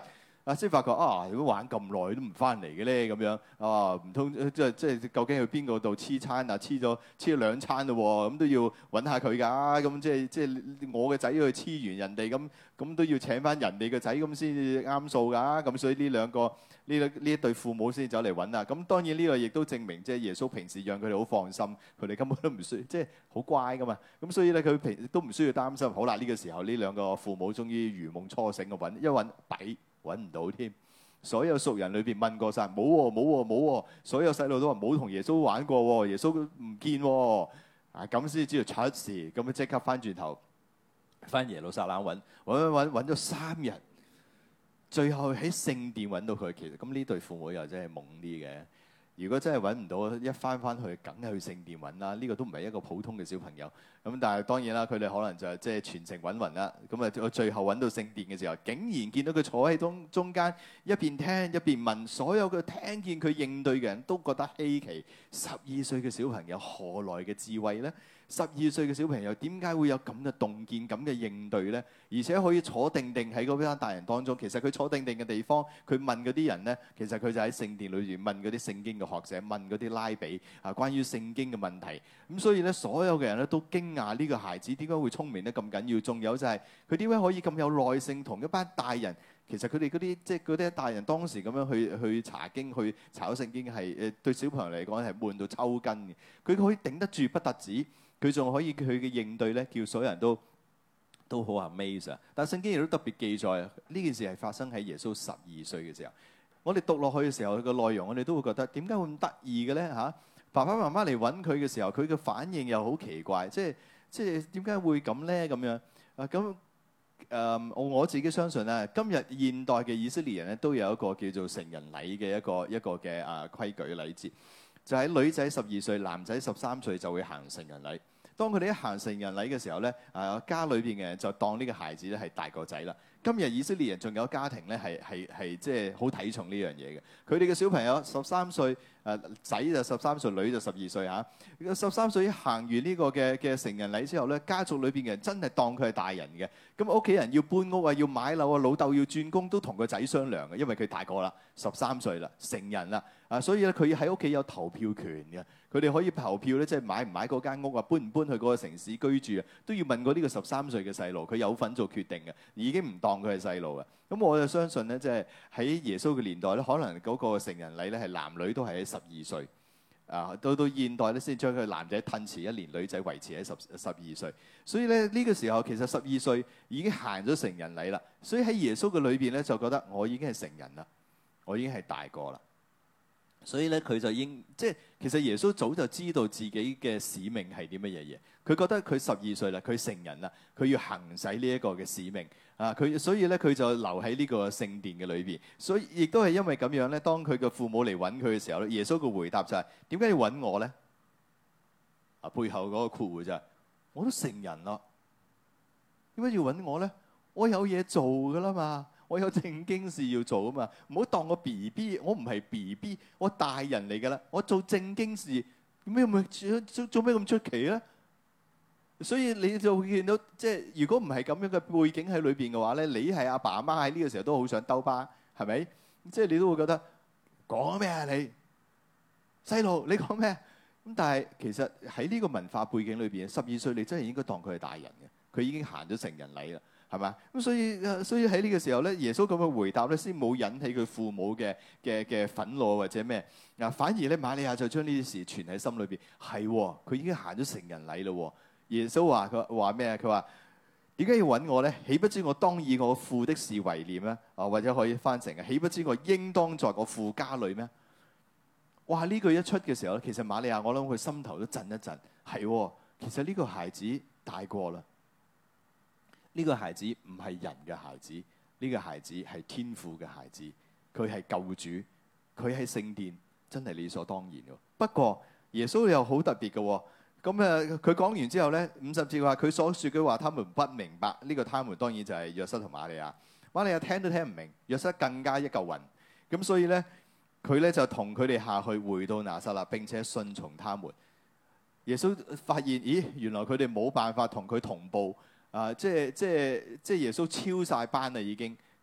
Speaker 1: 啊，先發覺啊，如果玩咁耐都唔翻嚟嘅咧，咁樣啊，唔通即係即係究竟去邊個度黐餐啊？黐咗黐咗兩餐咯喎，咁都要揾下佢㗎。咁即係即係我嘅仔去黐完人哋，咁咁都要請翻人哋嘅仔咁先至啱數㗎。咁所以呢兩個呢兩呢一對父母先走嚟揾啦。咁當然呢個亦都證明即係耶穌平時讓佢哋好放心，佢哋根本都唔需即係好乖㗎嘛。咁所以咧佢平都唔需要擔心。好啦，呢個時候呢兩個父母終於如夢初醒嘅揾，一揾弊。揾唔到添，所有熟人裏邊問過晒，冇喎冇喎冇喎，所有細路都話冇同耶穌玩過喎，耶穌唔見喎，啊咁先知道出事，咁樣即刻翻轉頭翻耶路撒冷揾揾揾揾咗三日，最後喺聖殿揾到佢。其實咁呢對父母又真係懵啲嘅。如果真係揾唔到，一翻翻去梗係去聖殿揾啦。呢、這個都唔係一個普通嘅小朋友。咁但係當然啦，佢哋可能就即係全程揾勻啦。咁啊，最後揾到聖殿嘅時候，竟然見到佢坐喺中中間，一邊聽一邊問。所有嘅聽見佢應對嘅人都覺得稀奇。十二歲嘅小朋友何來嘅智慧呢？十二歲嘅小朋友點解會有咁嘅洞見、咁嘅應對呢？而且可以坐定定喺嗰班大人當中。其實佢坐定定嘅地方，佢問嗰啲人呢，其實佢就喺聖殿裏邊問嗰啲聖經嘅學者，問嗰啲拉比啊，關於聖經嘅問題。咁所以咧，所有嘅人咧都驚訝呢個孩子點解會聰明得咁緊要？仲有就係佢點解可以咁有耐性同一班大人？其實佢哋嗰啲即係嗰啲大人當時咁樣去去查經、去查聖經係誒對小朋友嚟講係悶到抽筋嘅。佢可以頂得住不特止。佢仲可以佢嘅應對咧，叫所有人都都好 amaze 啊！但係聖經亦都特別記載呢件事係發生喺耶穌十二歲嘅時候。我哋讀落去嘅時候，佢個內容我哋都會覺得點解會咁得意嘅咧嚇？爸爸媽媽嚟揾佢嘅時候，佢嘅反應又好奇怪，即係即係點解會咁咧咁樣啊？咁誒我我自己相信咧，今日現代嘅以色列人咧都有一個叫做成人禮嘅一個一個嘅啊規矩禮節，就係女仔十二歲，男仔十三歲就會行成人禮。當佢哋一行成人禮嘅時候咧，啊家裏邊嘅人就當呢個孩子咧係大個仔啦。今日以色列人仲有家庭咧係係係即係好睇重呢樣嘢嘅。佢哋嘅小朋友十三歲，誒仔就十三歲，女就十二歲嚇。十三歲一行完呢個嘅嘅成人禮之後咧，家族裏邊嘅人真係當佢係大人嘅。咁屋企人要搬屋啊，要買樓啊，老豆要轉工都同個仔商量嘅，因為佢大個啦，十三歲啦，成人啦。啊，所以咧佢喺屋企有投票權嘅，佢哋可以投票咧，即係買唔買嗰間屋啊，搬唔搬去嗰個城市居住啊，都要問過呢個十三歲嘅細路，佢有份做決定嘅，已經唔當佢係細路嘅。咁我就相信咧，即係喺耶穌嘅年代咧，可能嗰個成人禮咧係男女都係喺十二歲，啊，到到現代咧先將佢男仔褪遲一年，女仔維持喺十十二歲。所以咧呢個時候其實十二歲已經行咗成人禮啦。所以喺耶穌嘅裏邊咧就覺得我已經係成人啦，我已經係大個啦。所以咧，佢就應即係其實耶穌早就知道自己嘅使命係啲乜嘢嘢。佢覺得佢十二歲啦，佢成人啦，佢要行使呢一個嘅使命啊！佢所以咧，佢就留喺呢個聖殿嘅裏邊。所以亦都係因為咁樣咧，當佢嘅父母嚟揾佢嘅時候咧，耶穌嘅回答就係：點解要揾我咧？啊，背後嗰個括弧就係：我都成人啦，點解要揾我咧？我有嘢做㗎啦嘛。我有正經事要做啊嘛，唔好當我 B B， 我唔係 B B， 我大人嚟㗎啦，我做正經事，咩咪做做咩咁出奇咧？所以你就會見到，即係如果唔係咁樣嘅背景喺裏邊嘅話咧，你係阿爸阿媽喺呢個時候都好想兜巴，係咪？即係你都會覺得講咩啊你細路，你講咩？咁但係其實喺呢個文化背景裏邊，十二歲你真係應該當佢係大人嘅，佢已經行咗成人禮啦。係嘛？咁所以所以喺呢個時候咧，耶穌咁嘅回答咧，先冇引起佢父母嘅嘅嘅憤怒或者咩啊？反而咧，瑪利亞就將呢啲事存喺心裏邊。係喎，佢已經行咗成人禮咯。耶穌話佢話咩啊？佢話點解要揾我咧？豈不知我當以我父的事為念咧？啊，或者可以翻成啊？豈不知我應當在我父家裏咩？哇！呢句一出嘅時候咧，其實瑪利亞我諗佢心頭都震一震。係喎，其實呢個孩子大過啦。呢個孩子唔係人嘅孩子，呢個孩子係天父嘅孩子，佢係救主，佢喺聖殿真係理所當然嘅。不過耶穌又好特別嘅，咁誒佢講完之後咧，五十節話佢所説嘅話，他們不明白。呢個他們當然就係約瑟同瑪利亞。瑪利亞聽都聽唔明，約瑟更加一嚿雲。咁所以咧，佢咧就同佢哋下去回到拿撒勒，並且順從他們。耶穌發現，咦，原來佢哋冇辦法同佢同步。啊！即係即係即係耶穌超晒班啦，已經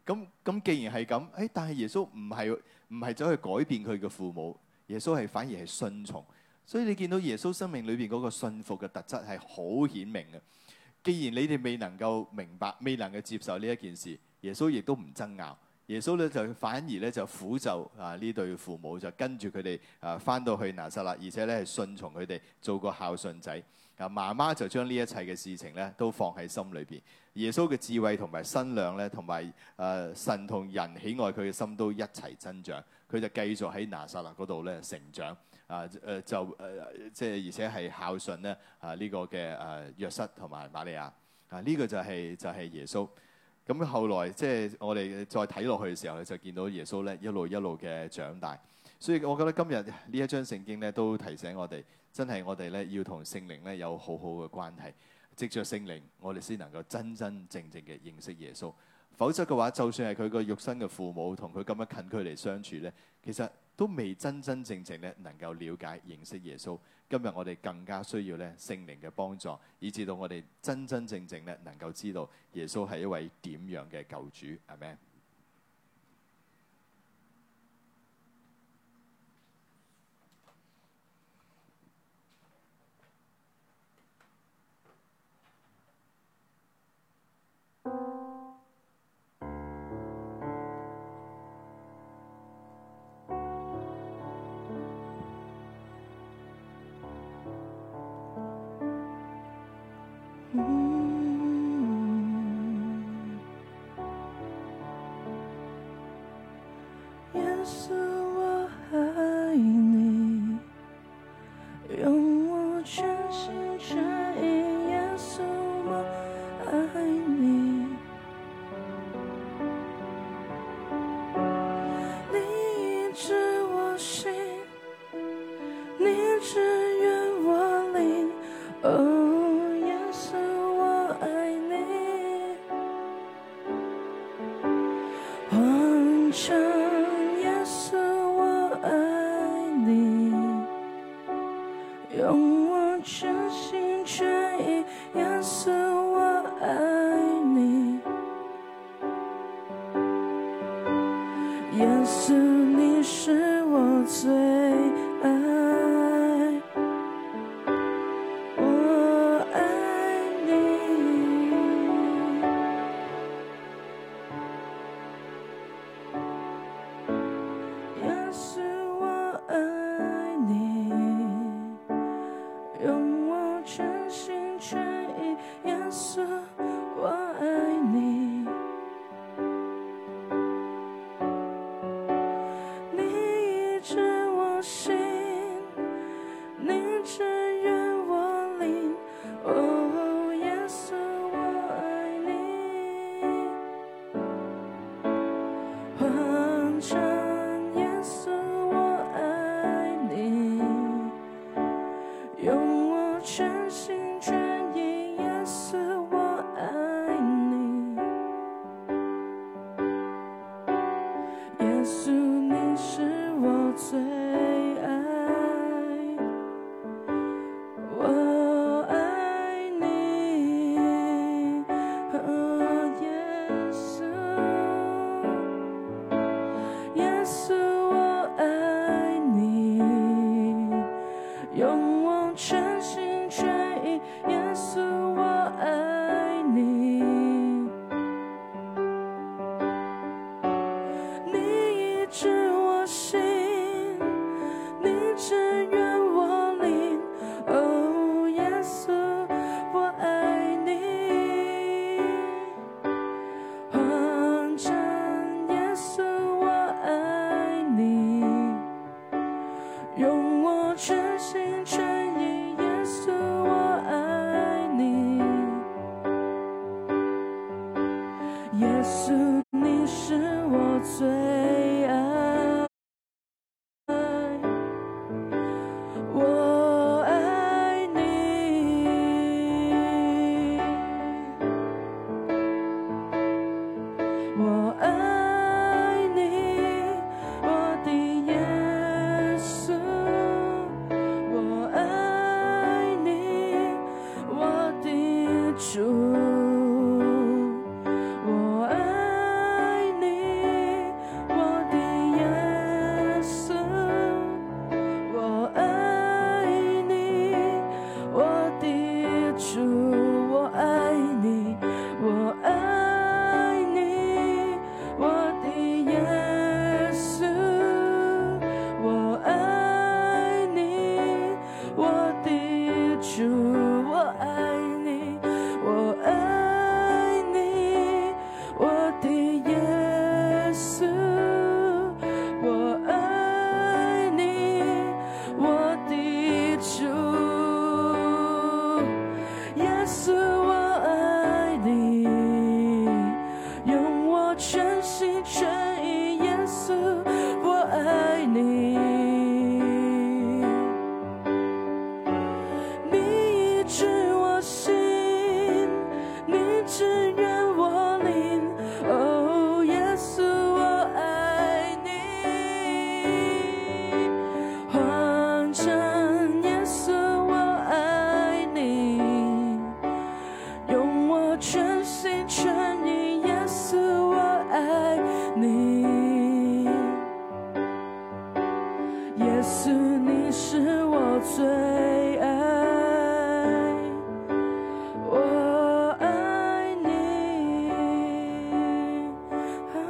Speaker 1: 咁咁既然係咁，誒但係耶穌唔係唔係走去改變佢嘅父母，耶穌係反而係順從。所以你見到耶穌生命裏邊嗰個信服嘅特質係好顯明嘅。既然你哋未能夠明白、未能夠接受呢一件事，耶穌亦都唔爭拗。耶穌咧就反而咧就撫就啊呢對父母，就跟住佢哋啊返到去拿撒勒，而且咧係順從佢哋，做個孝順仔。啊媽媽就將呢一切嘅事情咧都放喺心裏邊。耶穌嘅智慧同埋身量咧，同埋誒神同人喜愛佢嘅心都一齊增長。佢就繼續喺拿撒勒嗰度咧成長。啊誒、呃、就誒、呃、即係而且係孝順咧啊呢、這個嘅誒、啊、約瑟同埋瑪利亞。啊呢、這個就係、是、就係、是、耶穌。咁後來即係我哋再睇落去嘅時候咧，就見到耶穌咧一路一路嘅長大。所以我覺得今日呢一章聖經咧都提醒我哋，真係我哋咧要同聖靈咧有好好嘅關係。藉着聖靈，我哋先能夠真真正正嘅認識耶穌。否則嘅話，就算係佢個肉身嘅父母同佢咁樣近距離相處咧，其實都未真真正正咧能夠了解認識耶穌。今日我哋更加需要咧聖靈嘅幫助，以至到我哋真真正正咧能夠知道耶穌係一位點樣嘅救主。阿們。
Speaker 2: 耶稣，你是我最爱。 耶穌你是我最愛，我愛你。啊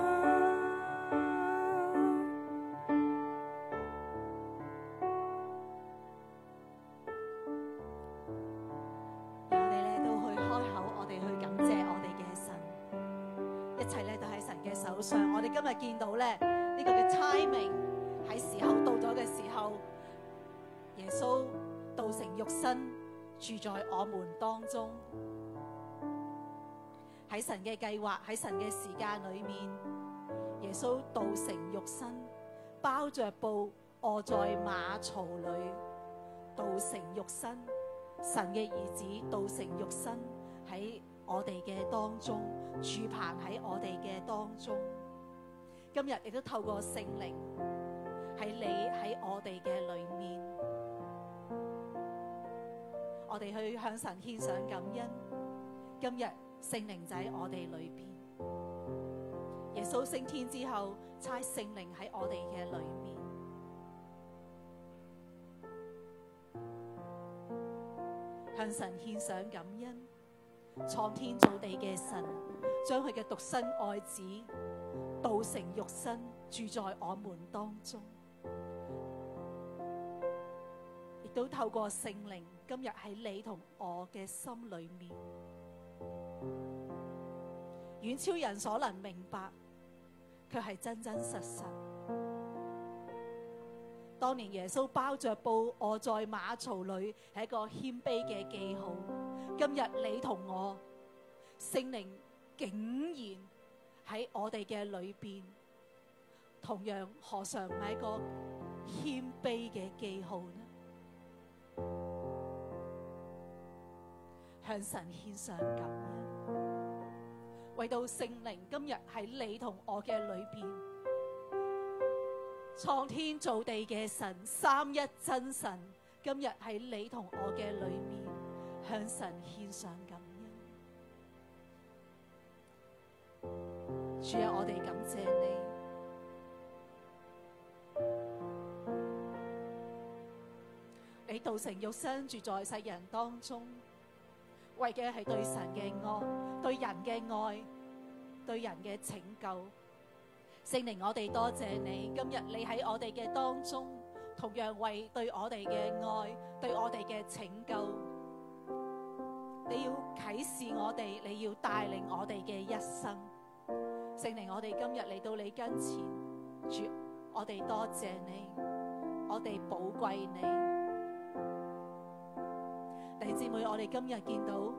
Speaker 3: 我哋咧都去開口，我哋去感謝我哋嘅神，一切咧都喺神嘅手上。我哋今日見到咧呢個嘅 timing 喺時候到咗嘅時候，耶穌道成肉身住在我們當中。喺神嘅計劃，喺神嘅時間裏面，耶穌道成肉身，包着布臥在馬槽裏，道成肉身。神嘅兒子道成肉身喺我哋嘅當中，住棚喺我哋嘅當中。今日亦都透過聖靈喺你喺我哋嘅裏面，我哋去向神獻上感恩。今日聖靈就喺我哋裏邊，耶穌升天之後差聖靈喺我哋嘅裏面。向神獻上感恩，創天造地嘅神將佢嘅獨生愛子道成肉身住在我們當中，亦都透過聖靈今日喺你同我嘅心裏面，遠超人所能明白，卻係真真實實。當年耶穌包着布臥在馬槽裏，係一個謙卑嘅記號。今日你同我，聖靈竟然喺我哋嘅裏邊，同樣何嘗唔係一個謙卑嘅記號呢？向神獻上感恩，為到聖靈今日喺你同我嘅裏邊。創天造地嘅神，三一真神，今日喺你同我嘅裏面，向神獻上感恩。主啊，我哋感謝你，你道成肉身住在世人當中，為嘅係對神嘅愛，對人嘅愛，對人嘅拯救。聖靈，我哋多謝你，今日你喺我哋嘅當中，同樣為對我哋嘅愛，對我哋嘅拯救，你要啟示我哋，你要帶領我哋嘅一生。聖靈，我哋今日嚟到你跟前，主，我哋多謝你，我哋寶貴你。弟兄姊妹，我哋今日見到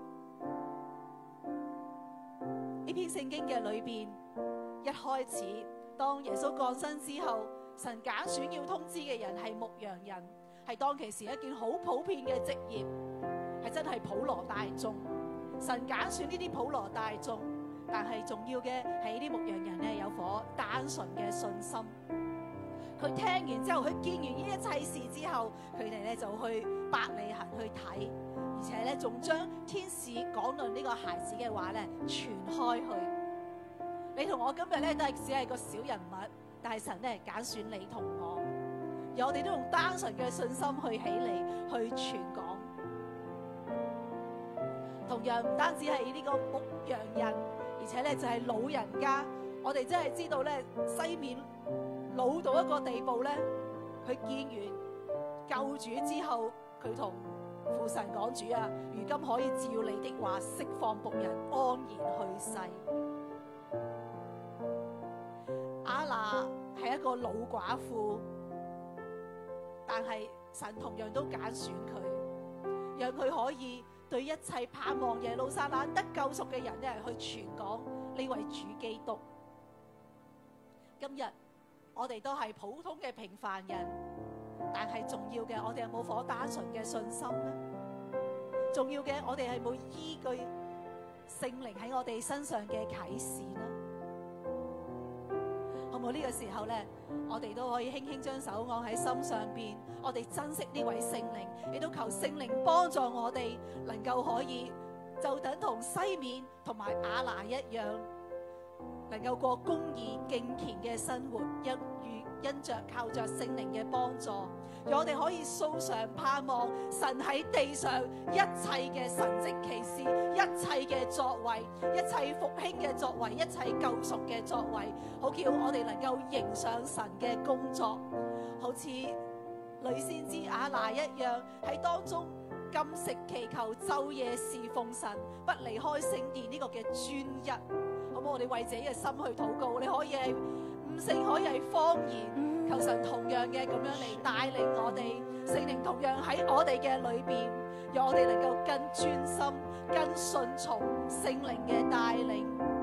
Speaker 3: 呢篇聖經嘅裏邊，一開始當耶穌降生之後，神揀選要通知嘅人係牧羊人，係當其時一件好普遍嘅職業，係真係普羅大眾。神揀選呢啲普羅大眾，但係重要嘅係呢啲牧羊人咧有顆單純嘅信心。佢聽完之後，佢見完呢一切事之後，佢哋咧就去伯利恆去睇，而且咧仲將天使講論呢個孩子嘅話咧傳開去。你同我今日咧都係只係個小人物，但係神咧揀選你同我，而我哋都用單純嘅信心去起嚟去傳講。同樣唔單止係呢個牧羊人，而且咧就係老人家。我哋真係知道咧，西面老到一個地步咧，佢見完救主之後，佢同父神講：主啊，如今可以照你的話釋放僕人安然去世。亞拿係一個老寡婦，但係神同樣都揀選佢，讓佢可以對一切盼望耶路撒冷得救贖嘅人咧去傳講呢位主基督。今日我哋都係普通嘅平凡人，但係重要嘅，我哋有冇顆單純嘅信心呢？重要嘅，我哋係冇依據聖靈喺我哋身上嘅啟示呢？好冇？呢個時候咧，我哋都可以輕輕將手按喺心上邊，我哋珍惜呢位聖靈，亦都求聖靈幫助我哋，能夠可以就等同西面同埋亞拿一樣，能夠過公義敬虔嘅生活，一如因着靠着聖靈嘅幫助，讓我哋可以素常盼望神喺地上一切嘅神蹟奇事，一切嘅作為，一切復興嘅作為，一切救贖嘅作為，好叫我哋能夠迎上神嘅工作，好似女先知亞拿一樣喺當中禁食祈求，晝夜侍奉神，不離開聖殿呢個嘅專一。好唔好？我哋為自己嘅心去禱告，你可以係悟性，可以係方言，求神同樣嘅咁樣嚟帶領我哋，聖靈同樣喺我哋嘅裏邊，讓我哋能夠更專心、更順從聖靈嘅帶領。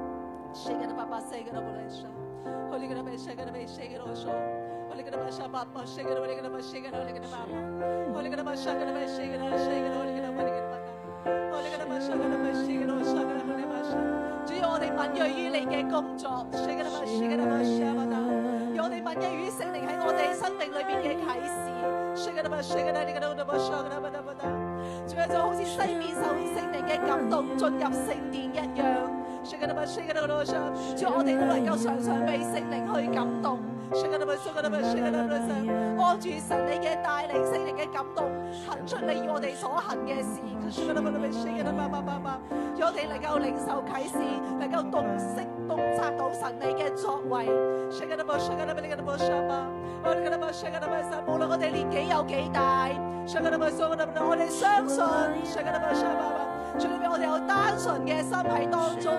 Speaker 3: 主要我哋敏銳於你嘅工作，讓我哋敏銳於聖靈喺我哋生命裏邊嘅啟示。主要就好似西面受聖靈嘅感動進入聖殿一樣。主要我哋都能夠常常被聖靈去感動。按住神你嘅帶領，聖靈嘅感動，行出你要我哋所行嘅事。讓我哋能夠領受啟示，能夠洞悉洞察到神你嘅作為。無論我哋年紀有幾大，我哋相信。主裏面我哋有單純嘅心喺當中，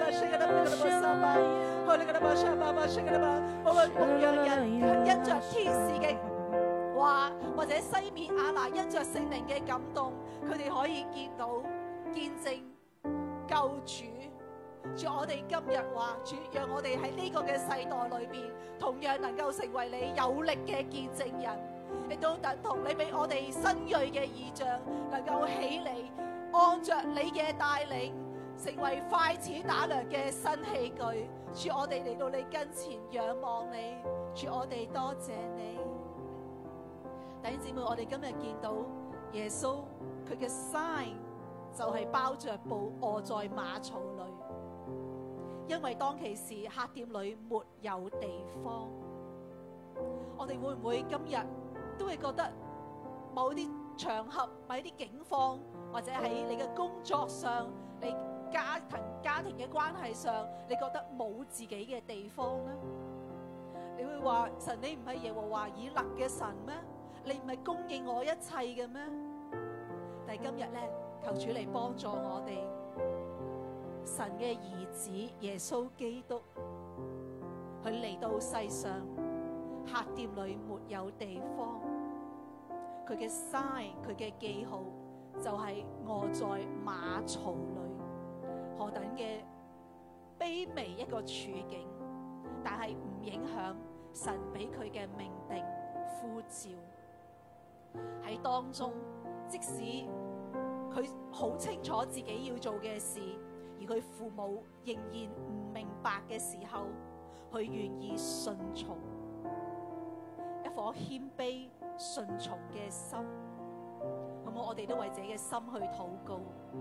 Speaker 3: 無論牧羊人因着天使嘅話，或者西面亞拿因着聖靈嘅感動，佢哋可以見到見證救主。主，我哋今日話，主讓我哋喺呢個嘅世代裏邊，同樣能夠成為你有力嘅見證人，亦都等同你俾我哋新銳嘅異象，能夠起嚟。按着你嘅帶領，成為快齒打糧嘅新器具。主，我哋嚟到你跟前仰望你。主，我哋多謝你。弟兄姊妹，我哋今日見到耶穌佢嘅 sign 就係包着布臥在馬槽裏，因為當其時客店裏沒有地方。我哋會唔會今日都會覺得某啲場合、某啲境況，或者喺你嘅工作上、你家庭家庭嘅關係上，你覺得冇自己嘅地方呢？你會話神，你唔係耶和華以勒嘅神咩？你唔係供應我一切嘅咩？但係今日咧，求主嚟幫助我哋，神嘅兒子耶穌基督，佢嚟到世上，客店裏沒有地方，佢嘅 sign， 佢嘅記號。就係臥在馬槽裏，何等嘅卑微一個處境，但係唔影響神俾佢嘅命定呼召喺當中。即使佢好清楚自己要做嘅事，而佢父母仍然唔明白嘅時候，佢願意順從，一顆謙卑順從嘅心。我哋都為自己嘅心去禱告，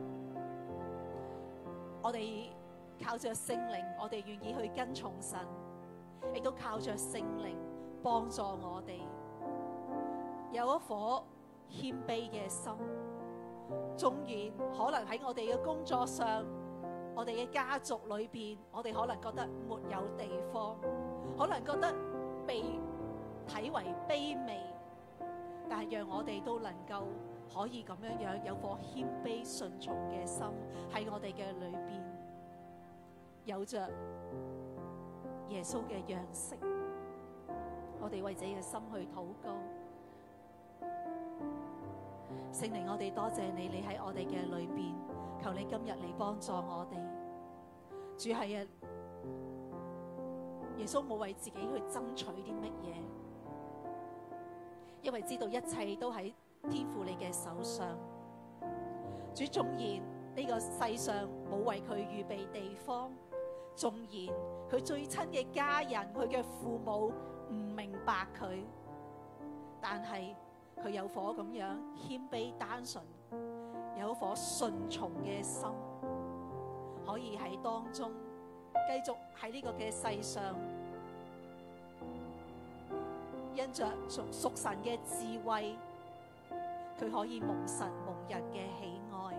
Speaker 3: 我哋靠着聖靈，我哋願意去跟從神，亦都靠着聖靈幫助我哋有一顆謙卑嘅心。縱然可能喺我哋嘅工作上，我哋嘅家族裏邊，我哋可能覺得沒有地方，可能覺得被睇為卑微，但係讓我哋都能夠可以咁樣樣有顆謙卑順從嘅心喺我哋嘅裏邊，有着耶穌嘅樣式。我哋為自己嘅心去禱告。聖靈，我哋多謝你，你喺我哋嘅裏邊，求你今日嚟幫助我哋。主係啊，耶穌冇為自己去爭取啲乜嘢，因為知道一切都喺天父你嘅手上。主，縱然呢個世上冇為佢預備地方，縱然佢最親嘅家人，佢嘅父母唔明白佢，但係佢有顆咁樣謙卑單純，有一顆順從嘅心，可以喺當中繼續喺呢個嘅世上因着屬屬神嘅智慧，佢可以蒙神蒙人嘅喜愛。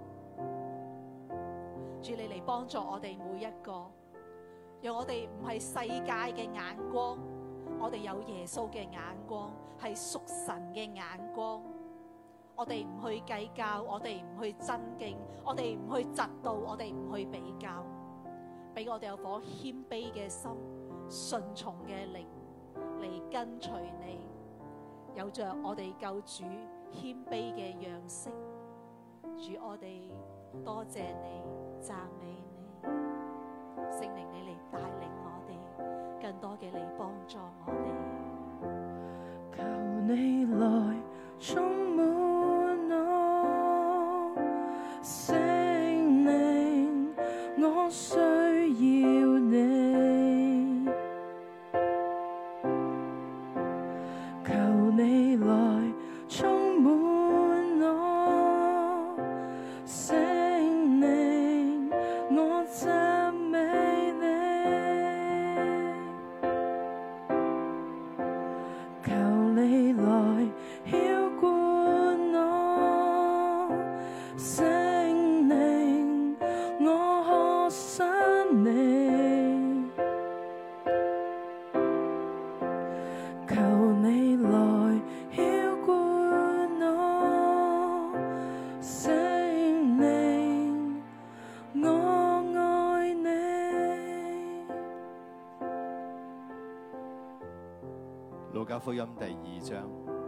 Speaker 3: 主，你嚟幫助我哋每一個，讓我哋唔係世界嘅眼光，我哋有耶穌嘅眼光，係屬神嘅眼光。我哋唔去計較，我哋唔去爭競，我哋唔去嫉妒，我哋唔去比較，俾我哋有顆謙卑嘅心，順從嘅靈嚟跟隨你，有着我哋救主謙卑嘅樣式。主，我哋多謝你，讚美你，聖靈你嚟帶領我哋，更多嘅嚟幫助我哋。
Speaker 2: 求你來充滿我，聖靈，我需要你。求你來充滿我，聖靈，我讚美你。求你來澆灌我，聖靈，我渴想你。求你來澆灌我，聖靈，我愛你。
Speaker 1: 路加福音第二章，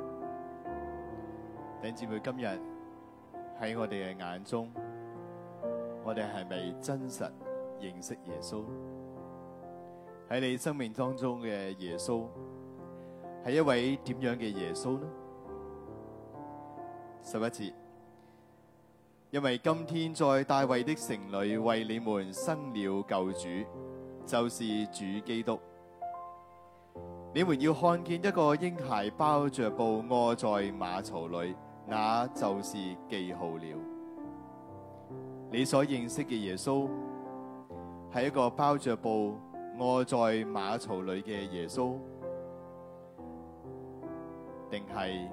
Speaker 1: 弟兄姊妹，今日喺我哋嘅眼中，我哋係咪真實認識耶穌？喺你生命當中嘅耶穌係一位點樣嘅耶穌呢？十一節，因為今天在大衛的城裏為你們生了救主，就是主基督。你們要看見一個嬰孩包着布臥在馬槽裏，那就是記號了。你所認識嘅耶穌係一個包着布臥在馬槽裏嘅耶穌，定係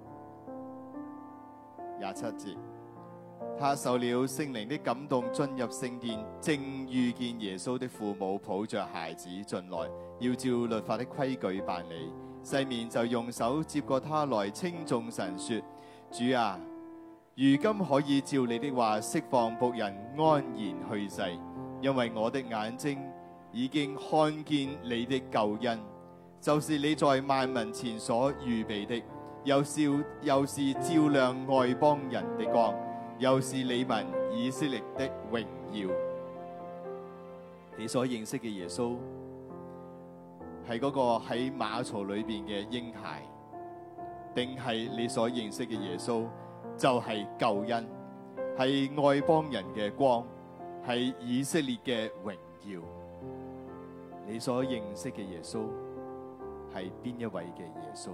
Speaker 1: 廿七節，他受了聖靈的感動進入聖殿，正遇見耶穌的父母抱着孩子進來，要照律法的規矩辦理。西面就用手接過他來，稱頌神說：主啊，如今可以照你的話釋放僕人安然去世，因為我的眼睛已經看見你的救恩，就是你在萬民前所預備的，又是又是照亮外邦人的光，又是你民以色列的榮耀。你所認識嘅耶穌係嗰個喺馬槽裏邊嘅嬰孩，定係你所認識嘅耶穌就係救恩，係外邦人嘅光，係以色列嘅榮耀？你所認識嘅耶穌係邊一位嘅耶穌？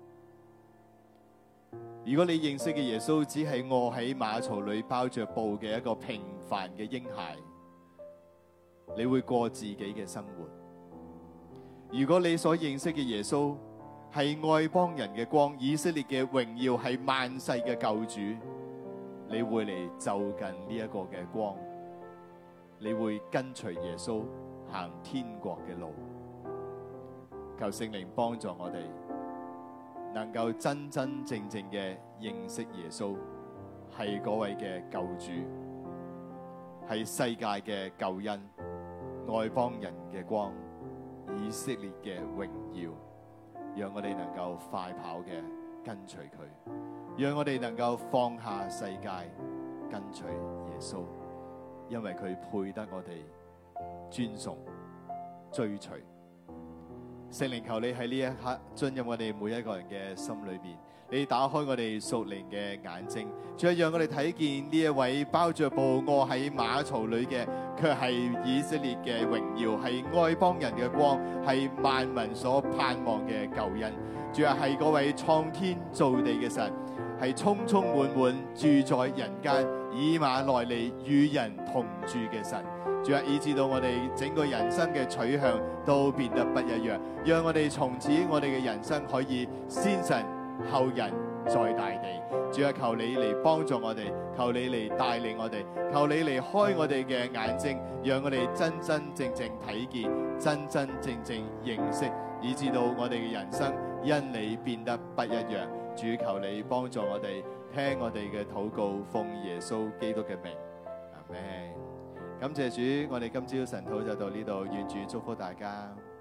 Speaker 1: 如果你認識嘅耶穌只係臥喺馬槽裏包着布嘅一個平凡嘅嬰孩，你會過自己嘅生活。如果你所認識嘅耶穌係外邦人嘅光，以色列嘅榮耀，係萬世嘅救主，你會嚟就近呢一個嘅光，你會跟隨耶穌行天國嘅路。求聖靈幫助我哋，能夠真真正正嘅認識耶穌係嗰位嘅救主，係世界嘅救恩，外邦人嘅光，以色列嘅榮耀。讓我哋能夠快跑嘅跟隨佢，讓我哋能夠放下世界跟隨耶穌，因為佢配得我哋尊崇追隨。聖靈，求你喺呢一刻進入我哋每一個人嘅心裏邊，你打開我哋屬靈嘅眼睛，再讓我哋睇見呢一位包着布臥喺馬槽裏嘅，卻係以色列嘅榮耀，係外邦人嘅光，係萬民所盼望嘅救恩。主啊，係嗰位創天造地嘅神，係充充滿滿住在人間，以馬內利與人同住嘅神。 主啊，以致到我哋整個人生嘅取向都變得不一樣，讓我哋從此我哋嘅人生可以先神後人在大地。主啊，求你嚟幫助我哋，求你嚟帶領我哋，求你嚟開我哋嘅眼睛，讓我哋真真正正睇見，真真正正認識，以致到我哋嘅人生因你變得不一樣。主，求你幫助我哋，聽我哋嘅禱告，奉耶穌基督嘅名，阿們。感謝主，我哋今朝晨禱就到呢度，願主祝福大家。